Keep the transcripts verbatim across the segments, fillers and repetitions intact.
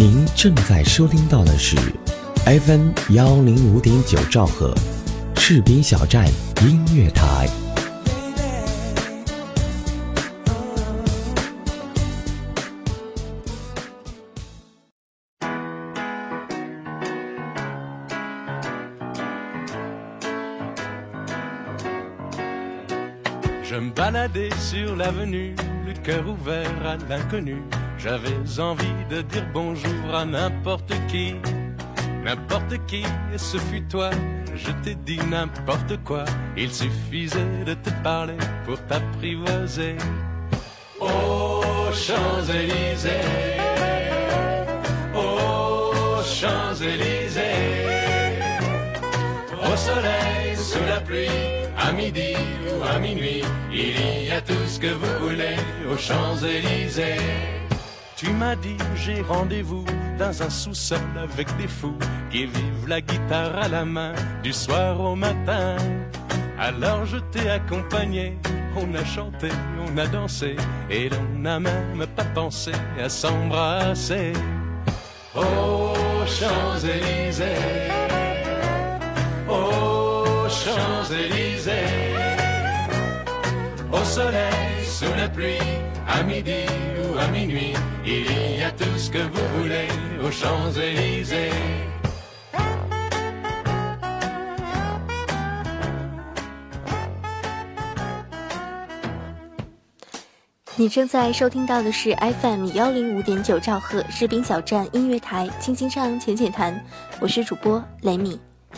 您正在收听到的是 F M 幺零五点九兆赫，士兵小站音乐台。 Je me baladais sur l'avenue, le cœur ouvert à l'inconnu. J'avais envie de dire bonjour à n'importe qui, n'importe qui, et ce fut toi. Je t'ai dit n'importe quoi, il suffisait de te parler pour t'apprivoiser. Aux Champs-Élysées, aux Champs-Élysées, au soleil, sous la pluie.À midi ou à minuit, il y a tout ce que vous voulez aux Champs-Élysées. Tu m'as dit j'ai rendez-vous dans un sous-sol avec des fous qui vivent la guitare à la main du soir au matin. Alors je t'ai accompagné, on a chanté, on a dansé et l'on n'a même pas pensé à s'embrasser. Aux Champs-Élysées, aux Champs-Élysées, au soleil, sous la pluie, à midi ou à minuit, il y a tout ce que vous voulez aux Champs-Élysées. 你正在收听到的是 F M 幺零五点九兆赫士兵小站音乐台，轻轻唱浅浅谈，我是主播雷米。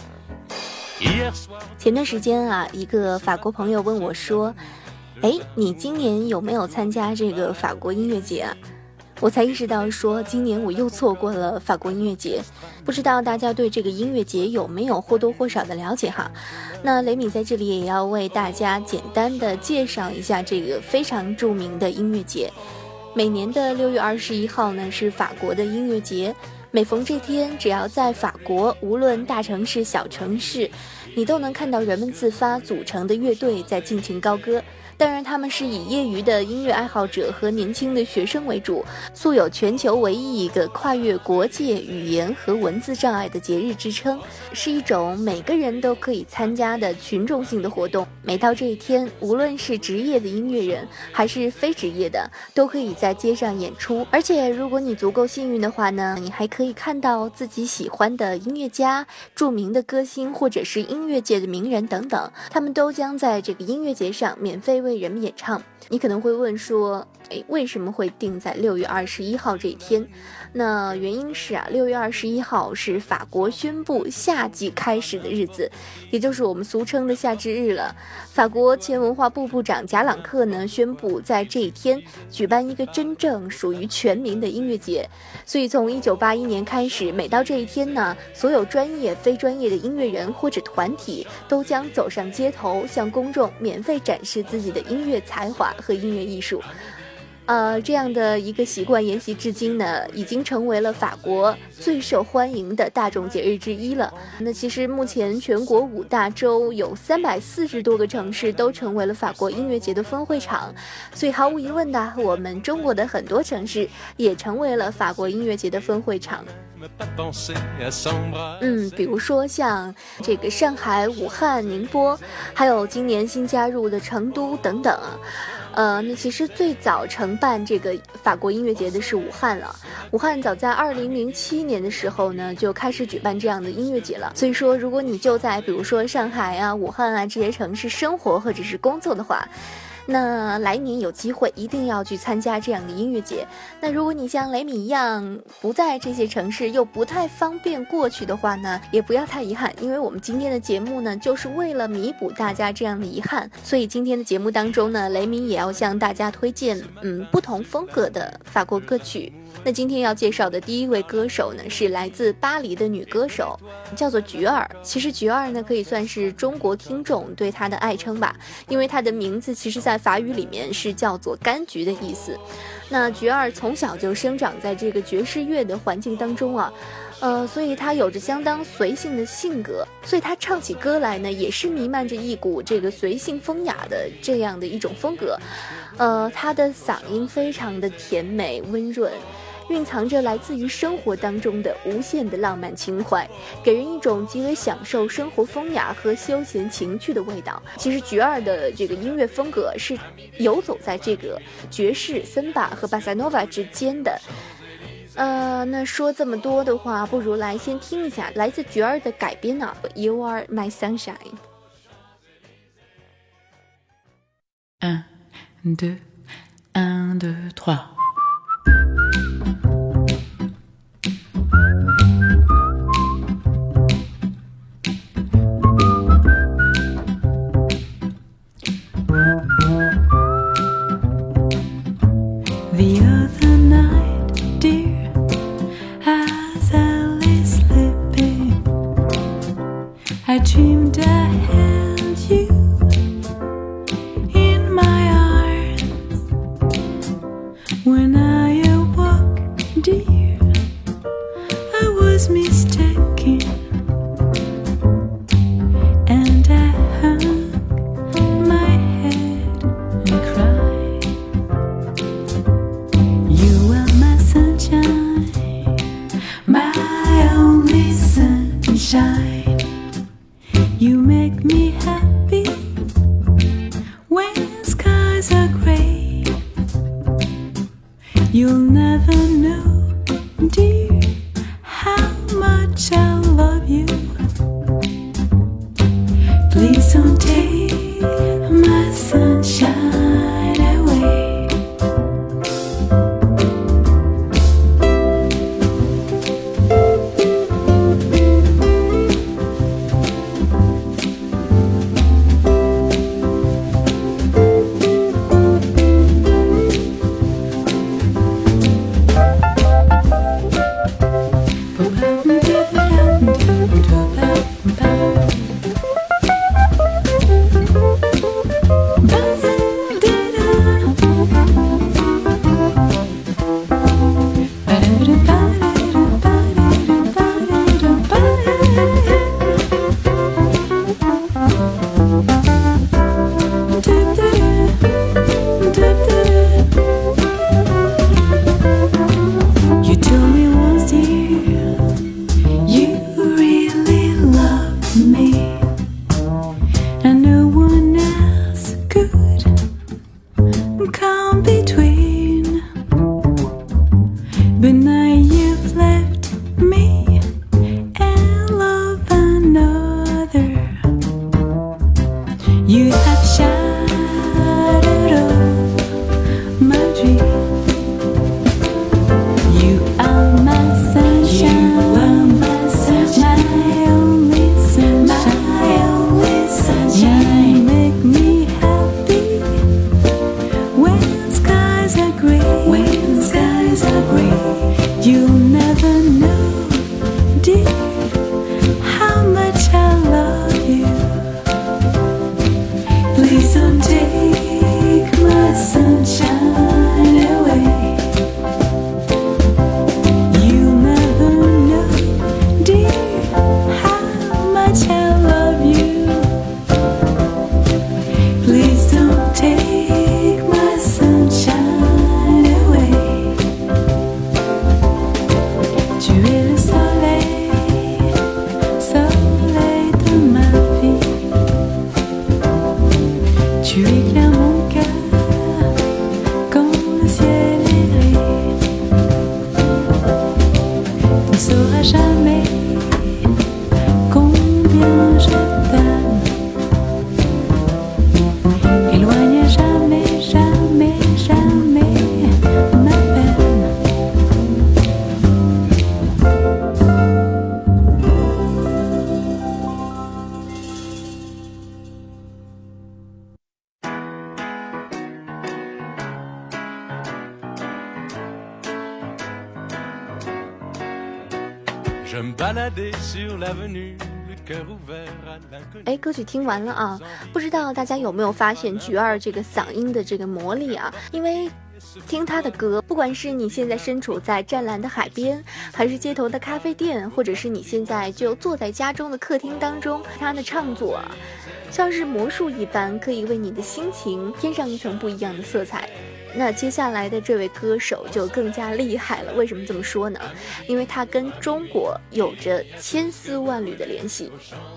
前段时间啊，一个法国朋友问我说，哎，你今年有没有参加这个法国音乐节啊？我才意识到说，今年我又错过了法国音乐节。不知道大家对这个音乐节有没有或多或少的了解哈？那雷米在这里也要为大家简单的介绍一下这个非常著名的音乐节。每年的六月二十一号呢，是法国的音乐节。每逢这天，只要在法国，无论大城市小城市，你都能看到人们自发组成的乐队在尽情高歌。当然他们是以业余的音乐爱好者和年轻的学生为主，素有全球唯一一个跨越国界、语言和文字障碍的节日之称，是一种每个人都可以参加的群众性的活动。每到这一天，无论是职业的音乐人还是非职业的，都可以在街上演出。而且如果你足够幸运的话呢，你还可以看到自己喜欢的音乐家、著名的歌星或者是音乐界的名人等等，他们都将在这个音乐节上免费为人们演唱。你可能会问说，诶，为什么会定在六月二十一号这一天？那原因是啊，六月二十一号是法国宣布夏季开始的日子，也就是我们俗称的夏至日了。法国前文化部部长贾朗克呢宣布在这一天举办一个真正属于全民的音乐节。所以从一九八一年开始，每到这一天呢，所有专业非专业的音乐人或者团体都将走上街头，向公众免费展示自己的音乐才华和音乐艺术。呃，这样的一个习惯沿袭至今呢，已经成为了法国最受欢迎的大众节日之一了。那其实目前全国五大洲有三百四十多个城市都成为了法国音乐节的分会场，所以毫无疑问的，我们中国的很多城市也成为了法国音乐节的分会场。嗯，比如说像这个上海、武汉、宁波，还有今年新加入的成都等等啊。呃，那其实最早承办这个法国音乐节的是武汉了。武汉早在二零零七年的时候呢，就开始举办这样的音乐节了。所以说，如果你就在比如说上海啊、武汉啊这些城市生活或者是工作的话，那来年有机会一定要去参加这样的音乐节。那如果你像雷米一样不在这些城市，又不太方便过去的话呢，也不要太遗憾，因为我们今天的节目呢，就是为了弥补大家这样的遗憾。所以今天的节目当中呢，雷米也要向大家推荐嗯不同风格的法国歌曲。那今天要介绍的第一位歌手呢，是来自巴黎的女歌手，叫做菊儿。其实菊儿呢，可以算是中国听众对她的爱称吧，因为她的名字其实在法语里面是叫做柑橘的意思。那菊儿从小就生长在这个爵士乐的环境当中啊，呃，所以她有着相当随性的性格，所以她唱起歌来呢，也是弥漫着一股这个随性风雅的这样的一种风格。呃，她的嗓音非常的甜美温润， 蕴藏着来自于生活当中的无限的浪漫情怀，给人一种极为享受生活风雅和休闲情趣的味道。其实菊儿的这个音乐风格是游走在这个爵士、森巴和巴萨诺瓦之间的。呃，那说这么多的话，不如来先听一下来自菊儿的改编啊 You Are My Sunshine。 un, deux, un, deux, trois. The other night, dear, as I lay sleeping, I dreamed I held you in my arms. When I awoke, dear, I was mistaken, and I hung my head and cried. You are my sunshine, my only sunshine. You make me happy when skies are gray. You'll never know, dear, how much I love you. Please don't take my sunshine away. You told me once, dear, you really loved me, and no one else could come between. But now you've left me and love another. You have shattered all my dreams. You are my sunshine, you are my sunshine, my only sunshine, my only sunshine. You make me happy when skies are gray, when skies are gray. You'll never know, dear, how much I love you. Please don't take my sunshine away. You'll never know, dear, how much I love you. Please don't take my sunshine away. Tu es le soleil, soleil de ma vie. Tu éclaires mon cœur quand le ciel est gris. Tu ne sauras jamais combien je t'aime. Éloigne jamais, jamais, jamais ma peine. Je me baladais sur l'avenue, le cœur ouvert à l'inconnu. 哎，歌曲听完了啊，不知道大家有没有发现菊儿这个嗓音的这个魔力啊？因为听她的歌，不管是你现在身处在湛蓝的海边，还是街头的咖啡店，或者是你现在就坐在家中的客厅当中，她的唱作啊，像是魔术一般，可以为你的心情添上一层不一样的色彩。 那接下来的这位歌手就更加厉害了。为什么这么说呢？因为他跟中国有着千丝万缕的联系。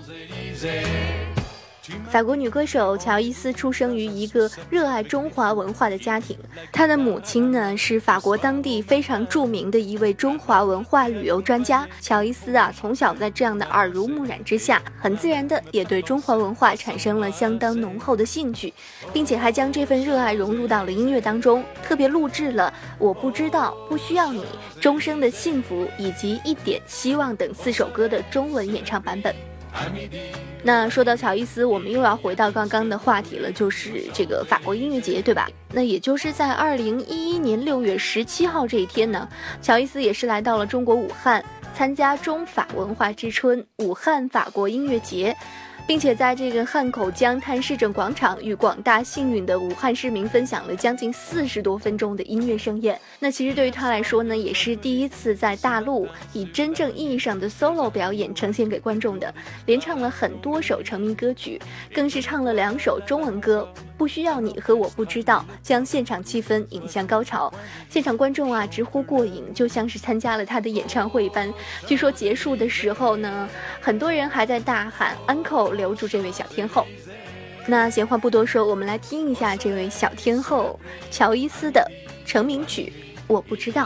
法国女歌手乔伊斯出生于一个热爱中华文化的家庭，她的母亲呢是法国当地非常著名的一位中华文化旅游专家。乔伊斯啊，从小在这样的耳濡目染之下，很自然的也对中华文化产生了相当浓厚的兴趣，并且还将这份热爱融入到了音乐当中，特别录制了《我不知道》《不需要你》《终生的幸福》以及《一点希望》等四首歌的中文演唱版本。那说到乔伊斯，我们又要回到刚刚的话题了，就是这个法国音乐节，对吧？那也就是在二零一一年六月十七号这一天呢，乔伊斯也是来到了中国武汉，参加中法文化之春武汉法国音乐节，并且在这个汉口江滩市政广场与广大幸运的武汉市民分享了将近四十多分钟的音乐盛宴。那其实对于他来说呢，也是第一次在大陆以真正意义上的 solo 表演呈现给观众的，连唱了很多首成名歌曲，更是唱了两首中文歌《不需要你》和《我不知道》，将现场气氛引向高潮。现场观众啊直呼过瘾，就像是参加了他的演唱会般。据说结束的时候呢，很多人还在大喊安可，留住这位小天后。那闲话不多说，我们来听一下这位小天后乔伊斯的成名曲《我不知道》。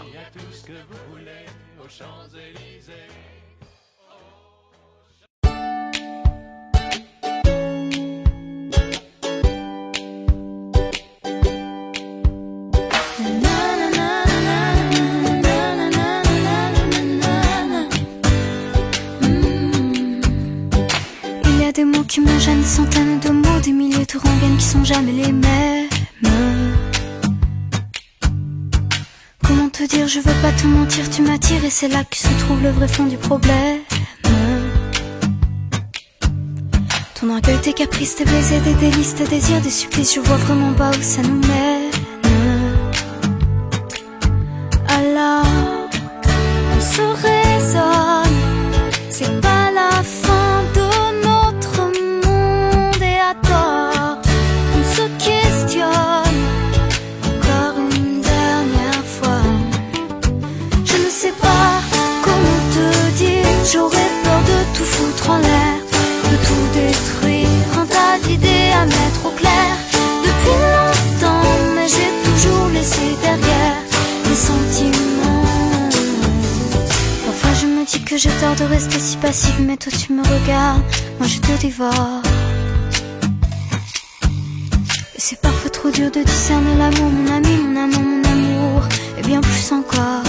Des mots qui me gênent, des centaines de mots, des milliers de rengaines qui sont jamais les mêmes. Comment te dire, je veux pas te mentir, tu m'attires et c'est là que se trouve le vrai fond du problème. Ton orgueil, tes caprices, tes baisers, des délices, tes désirs, des supplices, je vois vraiment pas où ça nous mène. Alors, on se raisonne, c'est pas la fin de on se questionne encore une dernière fois. Je ne sais pas comment te dire, j'aurais peur de tout foutre en l'air, de tout détruire, un tas d'idées à mettre au clair. Depuis longtemps, mais j'ai toujours laissé derrière les sentiments. Parfois je me dis que j'ai tort de rester si passive, mais toi tu me regardes, moi je te dévore. C'est parfois trop dur de discerner l'amour, mon ami, mon amour, mon amour, et bien plus encore.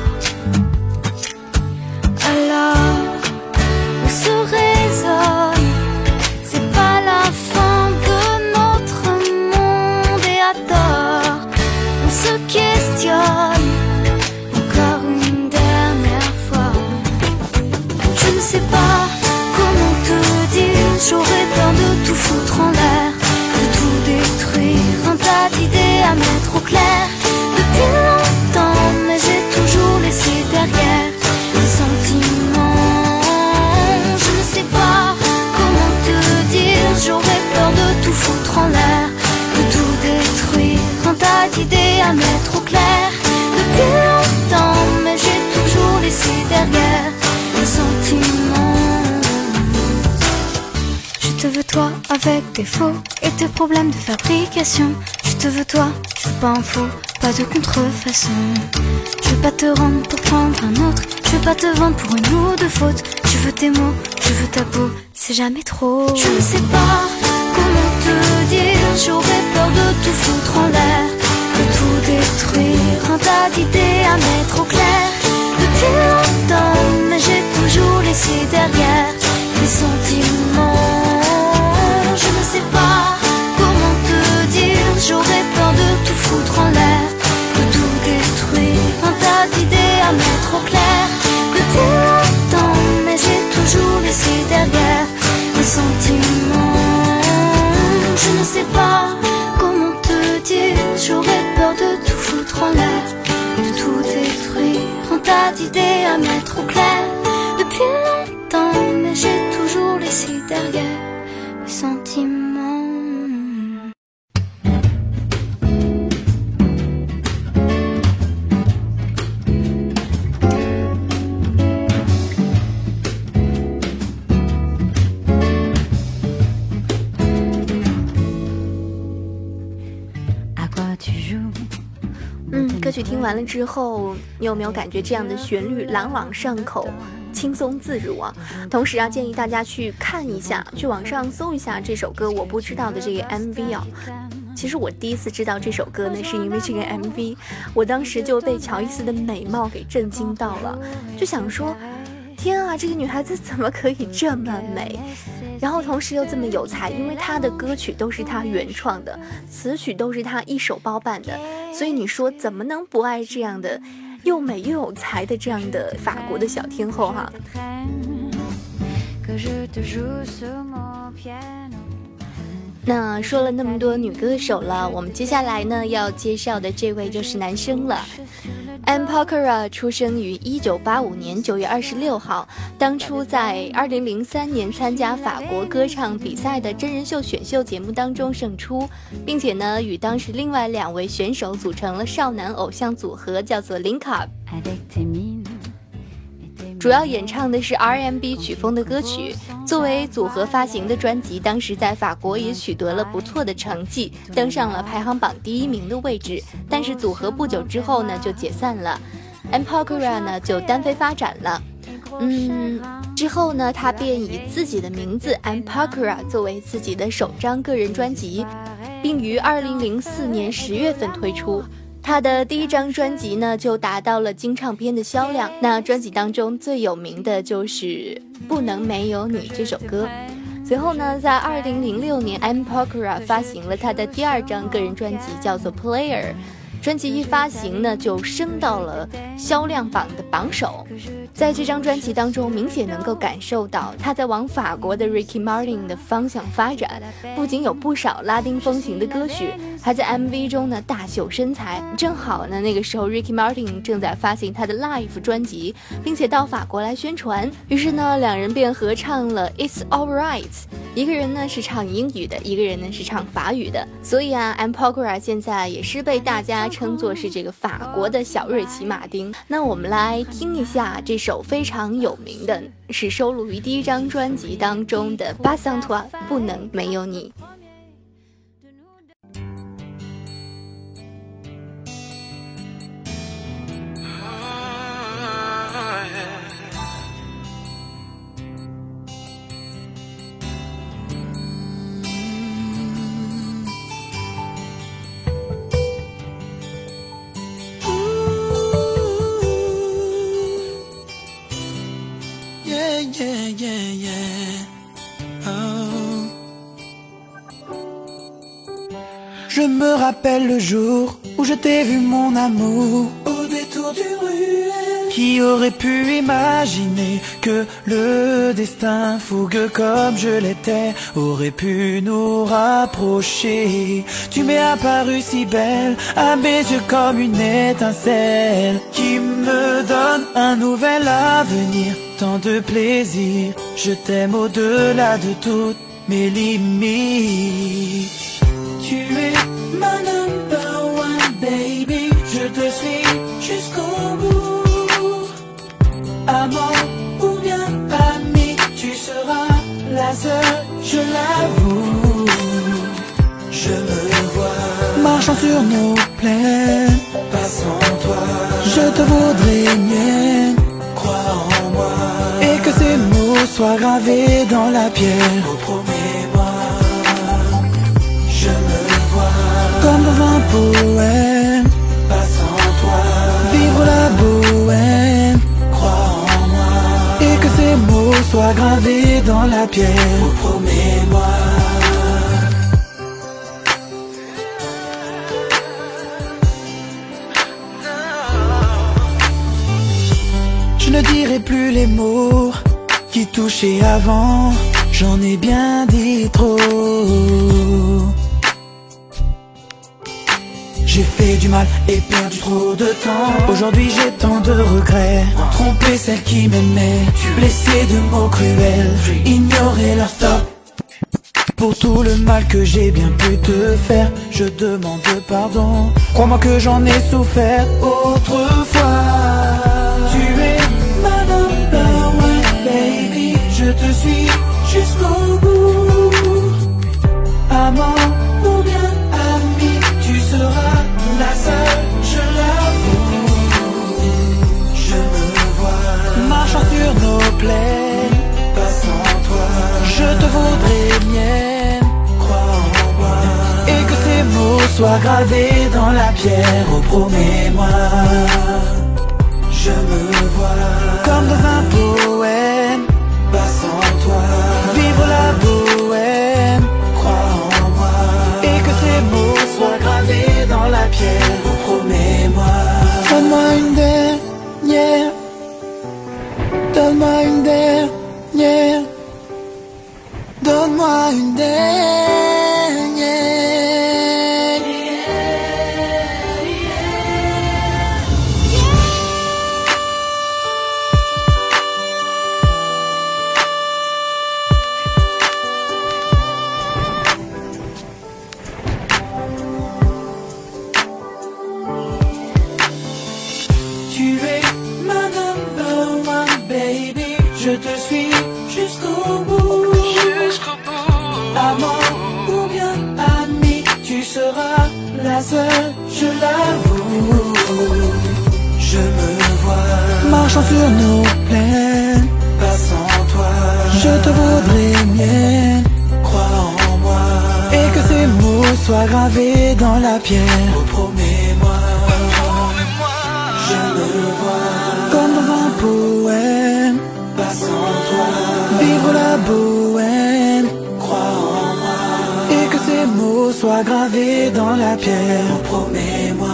Alors, on se raisonne, c'est pas la fin de notre monde, et à tort, on se questionne encore une dernière fois. Je ne sais pas comment te dire, j'aurais peur de tout foutre en l'air, détruire, un tas d'idées à mettre au clair. Depuis longtemps, mais j'ai toujours laissé derrière les sentiments. Je ne sais pas comment te dire, j'aurais peur de tout foutre en l'air, de tout détruire, un tas d'idées à mettre au clair. Depuis longtemps, mais j'ai toujours laissé derrière les sentiments. Je te veux toi avec tes faux et tes problèmes de fabrication. Je te veux toi, je veux pas un faux, pas de contrefaçon. Je veux pas te rendre pour prendre un autre, je veux pas te vendre pour une ou deux fautes. Je veux tes mots, je veux ta peau, c'est jamais trop. Je ne sais pas comment te dire, j'aurais peur de tout foutre en l'air, de tout détruire, un tas d'idées à mettre au clair. Depuis longtemps, mais j'ai toujours laissé derrière les sentiments. Je ne sais pas comment te dire, j'aurais peur de tout foutre en l'air, de tout détruire, un tas d'idées à mettre au clair. Depuis longtemps, mais j'ai toujours laissé derrière les sentiments. Je ne sais pas comment te dire, j'aurais peur de tout foutre en l'air, de tout détruire, un tas d'idées à mettre au clair. Depuis longtemps, mais j'ai toujours laissé derrière les sentiments. 歌曲听完了之后，你有没有感觉这样的旋律朗朗上口，轻松自如啊？同时啊，建议大家去看一下，去网上搜一下这首歌我不知道的这个 M V 啊。其实我第一次知道这首歌呢，是因为这个 M V， 我当时就被乔伊斯的美貌给震惊到了，就想说，天啊，这个女孩子怎么可以这么美？然后同时又这么有才，因为她的歌曲都是她原创的，词曲都是她一手包办的，所以你说怎么能不爱这样的又美又有才的这样的法国的小天后哈？那说了那么多女歌手了，我们接下来呢要介绍的这位就是男生了。Anne Pokora 出生于一九八五年九月二十六号，当初在二零零三年参加法国歌唱比赛的真人秀选秀节目当中胜出，并且呢与当时另外两位选手组成了少男偶像组合，叫做 Link Up。主要演唱的是 R and B 曲风的歌曲，作为组合发行的专辑，当时在法国也取得了不错的成绩，登上了排行榜第一名的位置。但是组合不久之后呢就解散了 ，Anne Pokora 呢就单飞发展了。嗯，之后呢他便以自己的名字 Anne Pokora 作为自己的首张个人专辑，并于二零零四年十月份推出。他的第一张专辑呢就达到了金唱片的销量，那专辑当中最有名的就是《不能没有你》这首歌。随后呢在二零零六年 Anne Pokora 发行了他的第二张个人专辑，叫做 Player。 专辑一发行呢就升到了销量榜的榜首。在这张专辑当中明显能够感受到他在往法国的 Ricky Martin 的方向发展，不仅有不少拉丁风情的歌曲，还在 M V 中呢大秀身材。正好呢那个时候 Ricky Martin 正在发行他的 Live 专辑，并且到法国来宣传，于是呢两人便合唱了 It's Alright， 一个人呢是唱英语的，一个人呢是唱法语的。所以啊 Anne Pokora 现在也是被大家称作是这个法国的小瑞奇马丁。那我们来听一下这首非常有名的，是收录于第一张专辑当中的 Pas sans toi， 不能没有你。 Yeah, yeah, yeah. Oh. Je me rappelle le jour où je t'ai vu mon amour au détour d'une ruelle. Qui aurait pu imaginer que le destin fougueux comme je l'étais aurait pu nous rapprocher. Tu m'es apparue si belle à mes yeux comme une étincelle qui me donne un nouvel avenir, tant de plaisir. Je t'aime au-delà de toutes mes limites. Tu es ma number one baby, je te suis jusqu'au bout. Amant ou bien ami, tu seras la seule, je l'avoue. Je me vois marchant sur nos plaines, pas sans toi. Je te voudrais mienne, crois en moi, et que ces mots soient gravés dans la pierre. Oh, promets-moi. Je me vois comme dans un poème, pas sans toi. Vivre la bohème, crois en moi, et que ces mots soient gravés dans la pierre. Oh, promets-moi. Je ne dirai plus les mots qui touchaient avant, j'en ai bien dit trop. J'ai fait du mal et perdu trop de temps. Aujourd'hui j'ai tant de regrets. Tromper celle qui m'aimait, blesser de mots cruels, ignorer leur stop. Pour tout le mal que j'ai bien pu te faire, je demande pardon. Crois-moi que j'en ai souffert autrefois. Tu es ma number one baby, je te suis jusqu'au bout. Amant ou bien ami, tu seras la seule, je l'avoue. plaît. Pas sans toi, je te voudrais mienne. Crois en moi et que ces mots soient gravés dans la pierre. Oh, promets-moi. Je me vois comme dans un poème. Pas sans toi, vivre la bohème. Crois en moi et que ces mots soient gravés dans la pierre. Oh, promets-moi. Donne-moi une dernière. Donne-moi une dernière. Donne-moi une dernière. Tu es ma number one baby. Je te suis jusqu'au bout. Jusqu'au bout. Amant ou bien ami, tu seras la seule, je l'avoue. Je me vois marchant sur nos plaines. Pas sans toi, je te voudrais mienne. Crois en moi et que ces mots soient gravés dans la pierre. Oh, promets-moi. Je me vois comme dans un poème. Pas sans toi, vivre la bohème. Crois en moi et que ces mots soient gravés dans la pierre. Oh, promets-moi.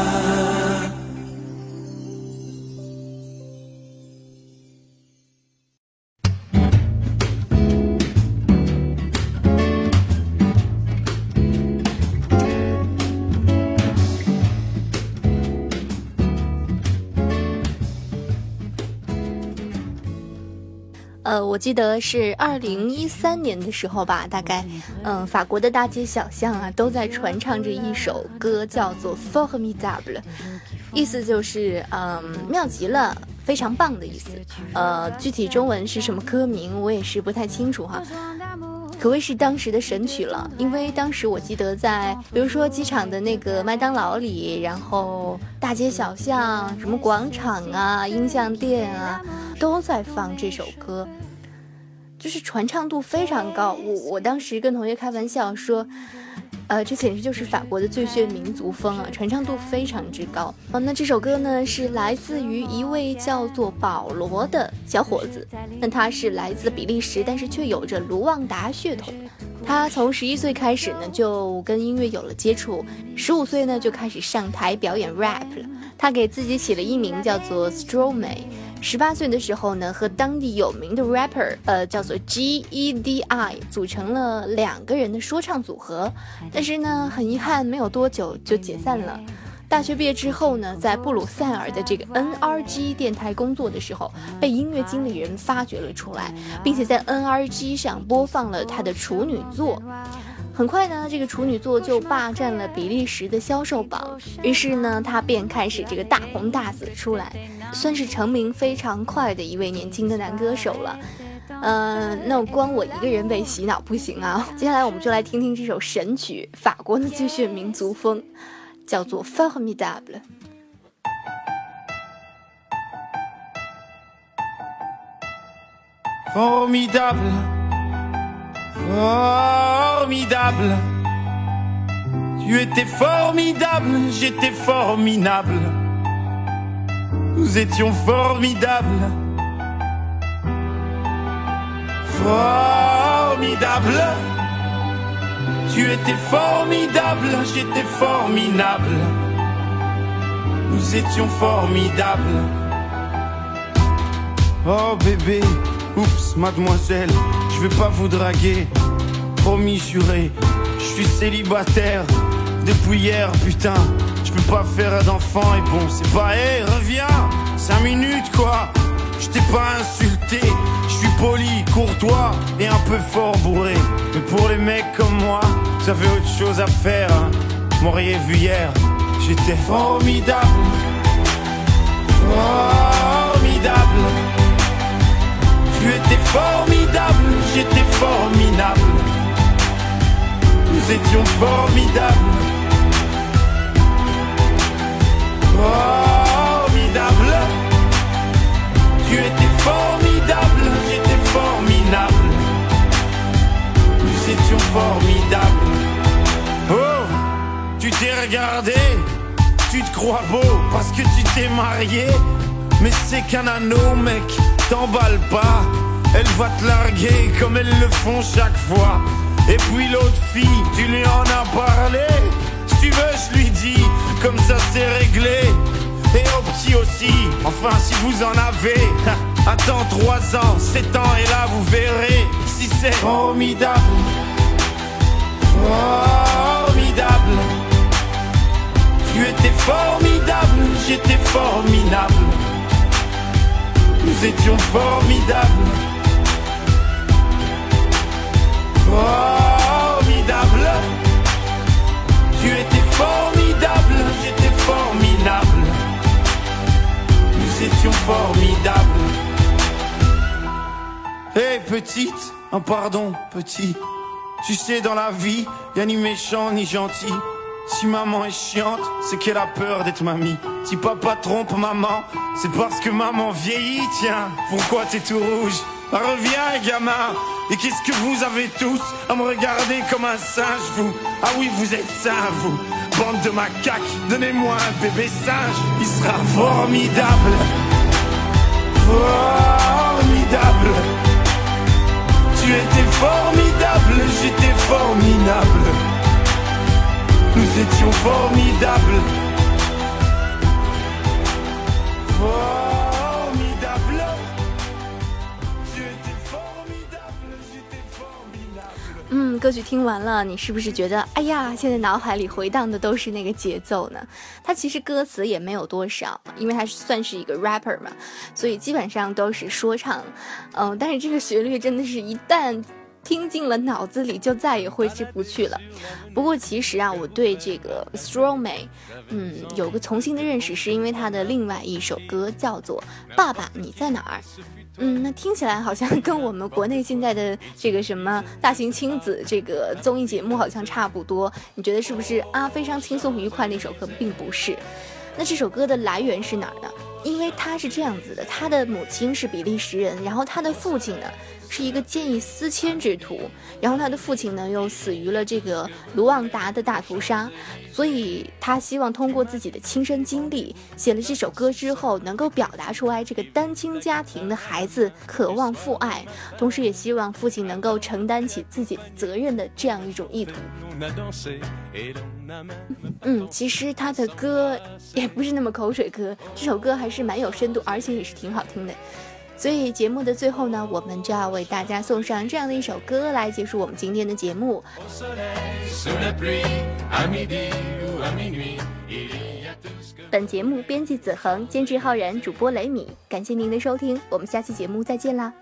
呃，我记得是二零一三年的时候吧，大概，嗯，法国的大街小巷啊，都在传唱着一首歌，叫做 Formidable， 意思就是，嗯，妙极了，非常棒的意思。呃，具体中文是什么歌名，我也是不太清楚哈。可谓是当时的神曲了，因为当时我记得在，比如说机场的那个麦当劳里，然后大街小巷、什么广场啊、音像店啊，都在放这首歌，就是传唱度非常高。我我当时跟同学开玩笑说，呃，这简直就是法国的最炫民族风啊，传唱度非常之高。哦，那这首歌呢是来自于一位叫做保罗的小伙子，那他是来自比利时，但是却有着卢旺达血统。他从十一岁开始呢就跟音乐有了接触，十五岁呢就开始上台表演 rap 了。他给自己起了艺名叫做 Stromae。十八岁的时候呢，和当地有名的 rapper， 呃，叫做 G E D I， 组成了两个人的说唱组合。但是呢，很遗憾，没有多久就解散了。大学毕业之后呢，在布鲁塞尔的这个 N R G 电台工作的时候，被音乐经理人发掘了出来，并且在 N R G 上播放了他的处女作。很快呢，这个处女作就霸占了比利时的销售榜，于是呢，他便开始这个大红大紫出来，算是成名非常快的一位年轻的男歌手了。呃，那光我一个人被洗脑不行啊！接下来我们就来听听这首神曲，法国的最炫民族风，叫做 Formidable。 Formidable, formidable. Tu étais formidable, j'étais formidable. Nous étions formidables. Formidable. Tu étais formidable, j'étais formidable. Nous étions formidables. Oh bébé, oups mademoiselle, je vais pas vous draguer. Promis juré, je suis célibataire depuis hier, putain. Je peux pas faire d'enfant et bon, c'est pas, hé, hey, reviens, cinq minutes quoi. Je t'ai pas insulté, je suis poli, courtois et un peu fort bourré. Mais pour les mecs comme moi, vous avez autre chose à faire, hein. M'auriez vu hier, j'étais formidable. Formidable. Tu étais formidable, j'étais formidable. Nous étions formidables. Formidable. Tu étais formidable, crois beau parce que tu t'es marié. Mais c'est qu'un anneau, mec, t'emballe pas. Elle va te larguer comme elles le font chaque fois. Et puis l'autre fille, tu lui en as parlé. Si tu veux, je lui dis, comme ça c'est réglé. Et au petit aussi, enfin si vous en avez. Attends trois ans, sept ans et là vous verrez si c'est formidable. Formidable. Tu étais formidable, j'étais formidable. Nous étions formidables. Formidable. Tu étais formidable, j'étais formidable. Nous étions formidables. Hé hey, petite, un pardon petit. Tu sais dans la vie, y'a ni méchant ni gentil. Si maman est chiante, c'est qu'elle a peur d'être mamie. Si papa trompe maman, c'est parce que maman vieillit. Tiens, pourquoi t'es tout rouge? Reviens gamin. Et qu'est-ce que vous avez tous à me regarder comme un singe, vous? Ah oui, vous êtes sains, vous. Bande de macaques, donnez-moi un bébé singe. Il sera formidable. Formidable. Tu étais formidable, j'étais formidable. Nous étions formidables. Formidable. Tu étais formidable, j'étais formidable. 嗯，歌曲听完了，你是不是觉得，哎呀，现在脑海里回荡的都是那个节奏呢？它其实歌词也没有多少，因为它算是一个 rapper 嘛，所以基本上都是说唱。嗯、呃，但是这个旋律真的是一旦听进了脑子里就再也挥之不去了。不过其实啊，我对这个 Stromae 嗯有个重新的认识，是因为他的另外一首歌叫做《爸爸你在哪儿》。嗯，那听起来好像跟我们国内现在的这个什么大型亲子这个综艺节目好像差不多，你觉得是不是啊？非常轻松愉快那首歌并不是。那这首歌的来源是哪儿呢？因为他是这样子的，他的母亲是比利时人，然后他的父亲呢是一个见异思迁之徒，然后他的父亲呢又死于了这个卢旺达的大屠杀，所以他希望通过自己的亲身经历，写了这首歌之后能够表达出来这个单亲家庭的孩子渴望父爱，同时也希望父亲能够承担起自己的责任的这样一种意图。嗯，其实他的歌也不是那么口水歌，这首歌还是蛮有深度，而且也是挺好听的。所以节目的最后呢，我们就要为大家送上这样的一首歌来结束我们今天的节目。本节目编辑子恒，监制浩然，主播雷米，感谢您的收听，我们下期节目再见啦。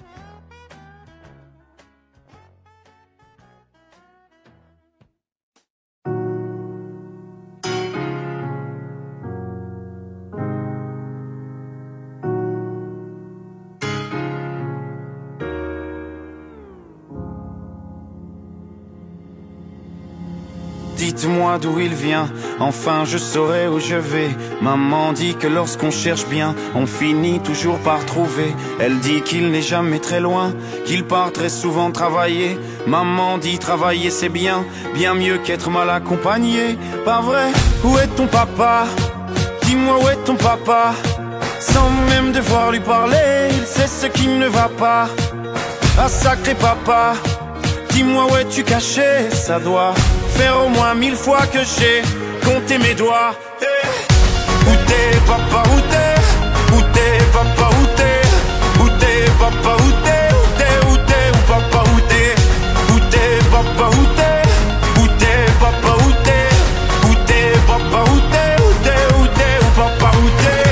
Dites-moi d'où il vient, enfin je saurai où je vais. Maman dit que lorsqu'on cherche bien, on finit toujours par trouver. Elle dit qu'il n'est jamais très loin, qu'il part très souvent travailler. Maman dit travailler c'est bien, bien mieux qu'être mal accompagné. Pas vrai? Où est ton papa? Dis-moi où est ton papa? Sans même devoir lui parler, il sait ce qui ne va pas. Ah sacré papa, dis-moi où es-tu caché? Ça doit faire au moins mille fois que j'ai compté mes doigts. Hey. Où t'es papa, où t'es? Où t'es papa, où t'es? Où t'es papa, où t'es? Où t'es, où t'es, où papa, où t'es? Où t'es papa, où t'es? Où t'es papa, où t'es? Où t'es papa, où t'es? Où t'es, où t'es, où papa, où t'es?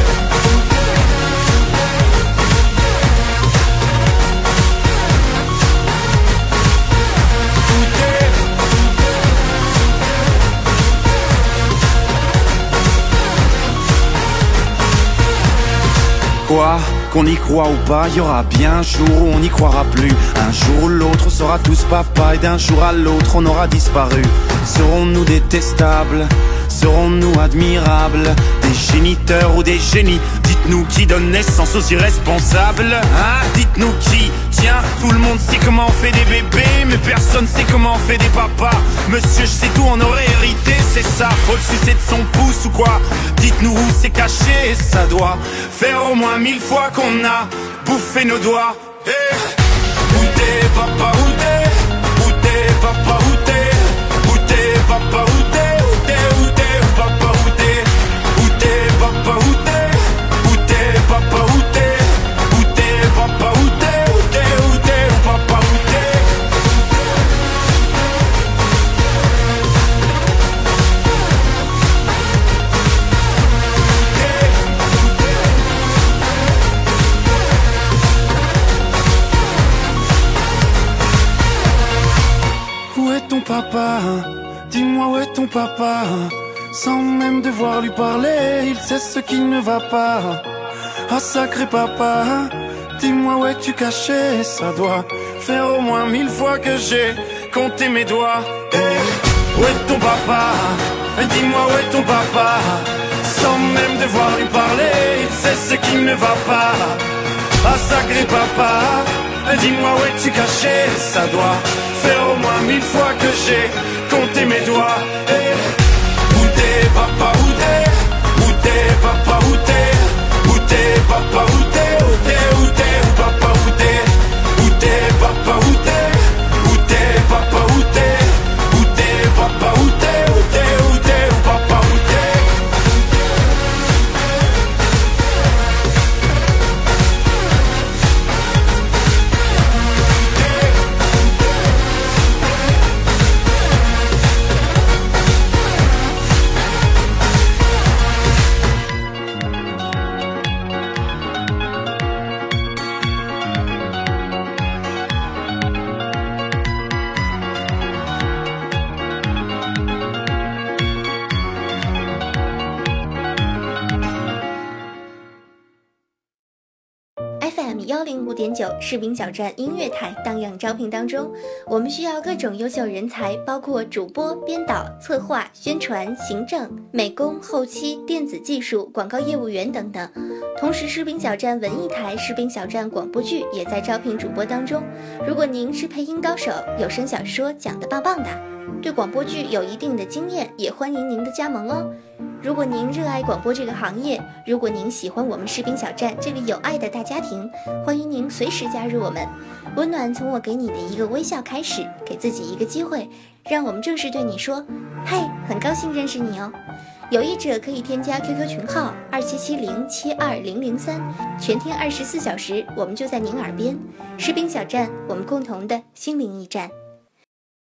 Quoi? Qu'on y croit ou pas, y aura bien un jour où on n'y croira plus. Un jour ou l'autre on sera tous papa, et d'un jour à l'autre on aura disparu. Serons-nous détestables? serons-nous admirables? Des géniteurs ou des génies? Dites-nous qui donne naissance aux irresponsables, hein? Dites-nous qui? Tiens, tout le monde sait comment on fait des bébés, mais personne sait comment on fait des papas. Monsieur, je sais tout, on aurait hérité, c'est ça. Faut le sucer de son pouce ou quoi? Dites-nous où c'est caché, ça doit faire au moins mille fois qu'on a bouffé nos doigts. Hey. Où t'es, papa, où t'es? Où t'es, papa, où t'es? Où t'es, papa, où t'es? Où t'es, où t'es, où papa, où t'es? Où t'es, papa, où t'es? Où t'es, papa, où t'es? Où t'es, papa, où t'es? Où t'es, où t'es, où papa, où t'es? Où est ton papa? Dis-moi où est ton papa? Sans même devoir lui parler, il sait ce qui ne va pas. Ah sacré papa, dis-moi où es-tu caché? Ça doit faire au moins mille fois que j'ai compté mes doigts. Hey, où est ton papa? Dis-moi où est ton papa? Sans même devoir lui parler, il sait ce qui ne va pas. Ah sacré papa, dis-moi où es-tu caché? Ça doit faire au moins mille fois que j'ai compté mes doigts. Hey, où t'es papa, où t'es? Où t'es papa, où t'es? Où t'es papa, où t'es? Où t'es, où t'es, où papa, où t'es? Où t'es papa, où t'es? Où t'es papa, où t'es? Où t'es papa, où t'es? Où t'es, où t'es, où papa, où t'es? F M 幺零五点九士兵小站音乐台荡漾招聘当中，我们需要各种优秀人才，包括主播、编导、策划、宣传、行政、美工、后期、电子技术、广告业务员等等。同时，士兵小站文艺台、士兵小站广播剧也在招聘主播当中。如果您是配音高手，有声小说讲得棒棒的，对广播剧有一定的经验，也欢迎您的加盟哦。如果您热爱广播这个行业，如果您喜欢我们士兵小站这个有爱的大家庭，欢迎您随时加入我们。温暖从我给你的一个微笑开始，给自己一个机会，让我们正式对你说，嘿，很高兴认识你哦。有意者可以添加 Q Q 群号二七七零七二零零三，全天二十四小时，我们就在您耳边。士兵小站，我们共同的心灵驿站。